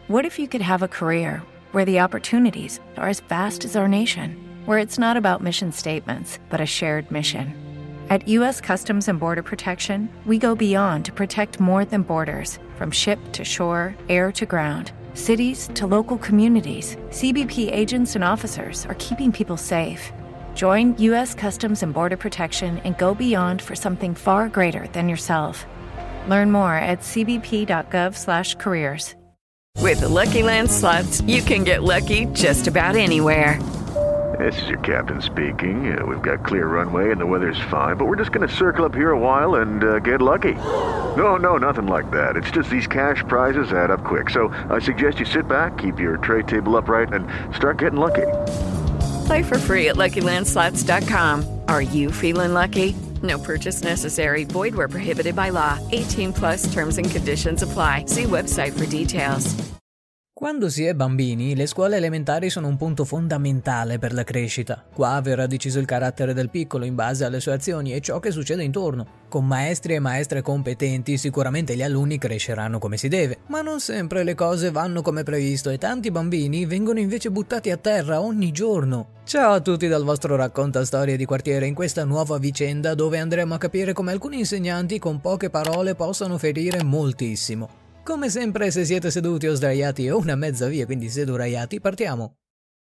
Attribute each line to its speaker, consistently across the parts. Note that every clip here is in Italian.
Speaker 1: What if you could have a career where the opportunities are as vast as our nation, where it's not about mission statements, but a shared mission? At U.S. Customs and Border Protection, we go beyond to protect more than borders. From ship to shore, air to ground, cities to local communities, CBP agents and officers are keeping people safe. Join U.S. Customs and Border Protection and go beyond for something far greater than yourself. Learn more at cbp.gov/careers.
Speaker 2: With the Lucky Land Slots, you can get lucky just about anywhere.
Speaker 3: This is your captain speaking. We've got clear runway and the weather's fine, but we're just going to circle up here a while and get lucky. No, nothing like that. It's just these cash prizes add up quick. So I suggest you sit back, keep your tray table upright, and start getting lucky.
Speaker 2: Play for free at LuckyLandSlots.com. Are you feeling lucky? No purchase necessary. Void where prohibited by law. 18+ terms and conditions apply. See website for details.
Speaker 4: Quando si è bambini, le scuole elementari sono un punto fondamentale per la crescita. Qua verrà deciso il carattere del piccolo in base alle sue azioni e ciò che succede intorno. Con maestri e maestre competenti, sicuramente gli alunni cresceranno come si deve, ma non sempre le cose vanno come previsto e tanti bambini vengono invece buttati a terra ogni giorno. Ciao a tutti dal vostro racconta storie di quartiere in questa nuova vicenda dove andremo a capire come alcuni insegnanti con poche parole possano ferire moltissimo. Come sempre, se siete seduti o sdraiati o una mezza via, quindi seduraiati, partiamo!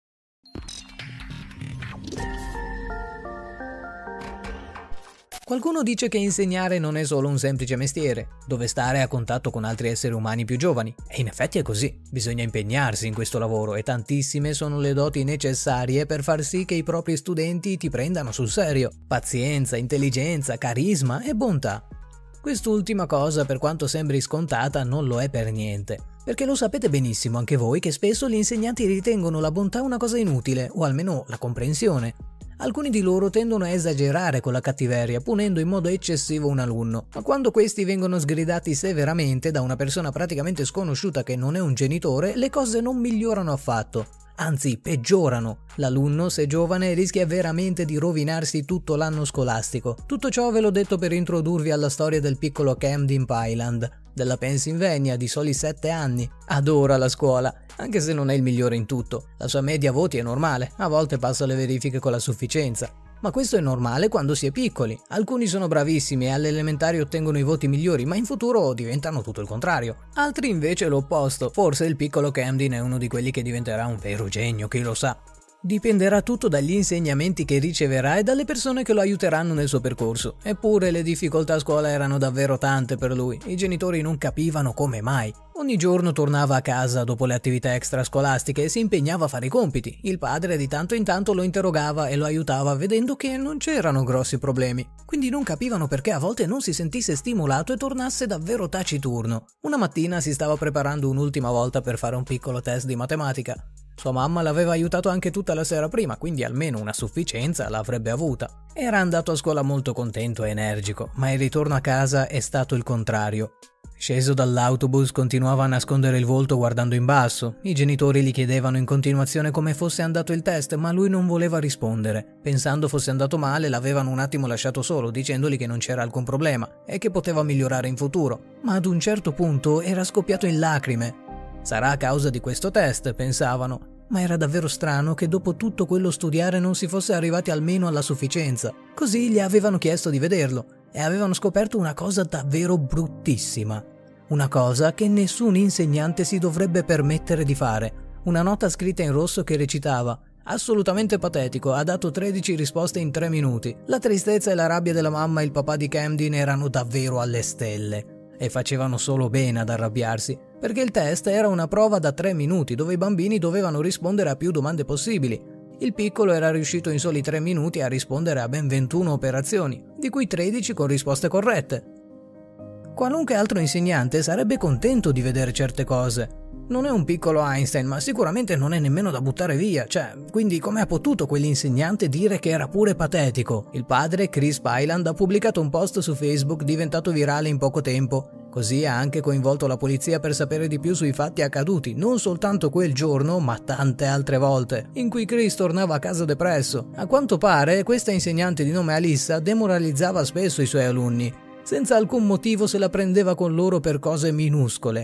Speaker 4: Qualcuno dice che insegnare non è solo un semplice mestiere, dove stare a contatto con altri esseri umani più giovani. E in effetti è così, bisogna impegnarsi in questo lavoro e tantissime sono le doti necessarie per far sì che i propri studenti ti prendano sul serio. Pazienza, intelligenza, carisma e bontà. Quest'ultima cosa, per quanto sembri scontata, non lo è per niente, perché lo sapete benissimo anche voi che spesso gli insegnanti ritengono la bontà una cosa inutile, o almeno la comprensione. Alcuni di loro tendono a esagerare con la cattiveria, punendo in modo eccessivo un alunno, ma quando questi vengono sgridati severamente da una persona praticamente sconosciuta che non è un genitore, le cose non migliorano affatto. Anzi, peggiorano. L'alunno, se giovane, rischia veramente di rovinarsi tutto l'anno scolastico. Tutto ciò ve l'ho detto per introdurvi alla storia del piccolo Camden Pyland, della Pennsylvania, di soli 7 anni. Adora la scuola, anche se non è il migliore in tutto. La sua media voti è normale, a volte passa le verifiche con la sufficienza. Ma questo è normale quando si è piccoli. Alcuni sono bravissimi e alle elementari ottengono i voti migliori, ma in futuro diventano tutto il contrario. Altri invece l'opposto. Forse il piccolo Camden è uno di quelli che diventerà un vero genio, chi lo sa. Dipenderà tutto dagli insegnamenti che riceverà e dalle persone che lo aiuteranno nel suo percorso. Eppure le difficoltà a scuola erano davvero tante per lui. I genitori non capivano come mai. Ogni giorno tornava a casa dopo le attività extrascolastiche e si impegnava a fare i compiti. Il padre di tanto in tanto lo interrogava e lo aiutava vedendo che non c'erano grossi problemi. Quindi non capivano perché a volte non si sentisse stimolato e tornasse davvero taciturno. Una mattina si stava preparando un'ultima volta per fare un piccolo test di matematica. Sua mamma l'aveva aiutato anche tutta la sera prima, quindi almeno una sufficienza l'avrebbe avuta. Era andato a scuola molto contento e energico, ma il ritorno a casa è stato il contrario. Sceso dall'autobus continuava a nascondere il volto guardando in basso. I genitori gli chiedevano in continuazione come fosse andato il test, ma lui non voleva rispondere. Pensando fosse andato male, l'avevano un attimo lasciato solo, dicendogli che non c'era alcun problema e che poteva migliorare in futuro. Ma ad un certo punto era scoppiato in lacrime. Sarà a causa di questo test, pensavano, ma era davvero strano che dopo tutto quello studiare non si fosse arrivati almeno alla sufficienza. Così gli avevano chiesto di vederlo e avevano scoperto una cosa davvero bruttissima. Una cosa che nessun insegnante si dovrebbe permettere di fare. Una nota scritta in rosso che recitava: assolutamente patetico, ha dato 13 risposte in 3 minuti. La tristezza e la rabbia della mamma e il papà di Camden erano davvero alle stelle. E facevano solo bene ad arrabbiarsi, perché il test era una prova da 3 minuti dove i bambini dovevano rispondere a più domande possibili. Il piccolo era riuscito in soli 3 minuti a rispondere a ben 21 operazioni, di cui 13 con risposte corrette. Qualunque altro insegnante sarebbe contento di vedere certe cose. Non è un piccolo Einstein, ma sicuramente non è nemmeno da buttare via, quindi come ha potuto quell'insegnante dire che era pure patetico? Il padre, Chris Pyland, ha pubblicato un post su Facebook diventato virale in poco tempo. Così ha anche coinvolto la polizia per sapere di più sui fatti accaduti, non soltanto quel giorno, ma tante altre volte, in cui Chris tornava a casa depresso. A quanto pare, questa insegnante di nome Alyssa demoralizzava spesso i suoi alunni. Senza alcun motivo se la prendeva con loro per cose minuscole.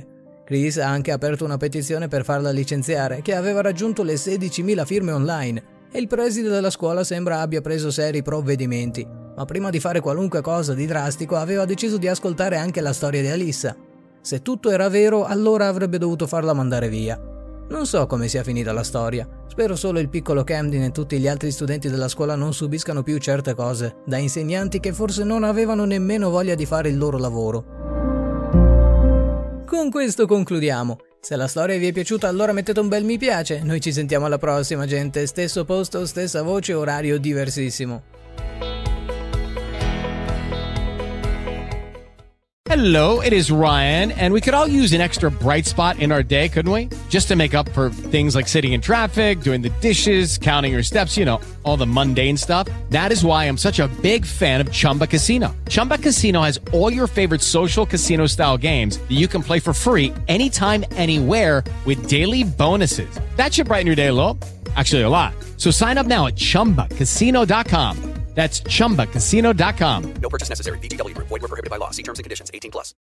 Speaker 4: Chris ha anche aperto una petizione per farla licenziare, che aveva raggiunto le 16.000 firme online, e il preside della scuola sembra abbia preso seri provvedimenti. Ma prima di fare qualunque cosa di drastico aveva deciso di ascoltare anche la storia di Alyssa. Se tutto era vero, allora avrebbe dovuto farla mandare via. Non so come sia finita la storia. Spero solo il piccolo Camden e tutti gli altri studenti della scuola non subiscano più certe cose, da insegnanti che forse non avevano nemmeno voglia di fare il loro lavoro. Con questo concludiamo. Se la storia vi è piaciuta, allora mettete un bel mi piace. Noi ci sentiamo alla prossima, gente. Stesso posto, stessa voce, orario diversissimo.
Speaker 5: Hello, it is Ryan, and we could all use an extra bright spot in our day, couldn't we? Just to make up for things like sitting in traffic, doing the dishes, counting your steps, you know, all the mundane stuff. That is why I'm such a big fan of Chumba Casino. Chumba Casino has all your favorite social casino-style games that you can play for free anytime, anywhere with daily bonuses. That should brighten your day a little. Actually, a lot. So sign up now at ChumbaCasino.com. That's ChumbaCasino.com.
Speaker 6: No purchase necessary. VGW Group. Void where prohibited by law. See terms and conditions. 18+.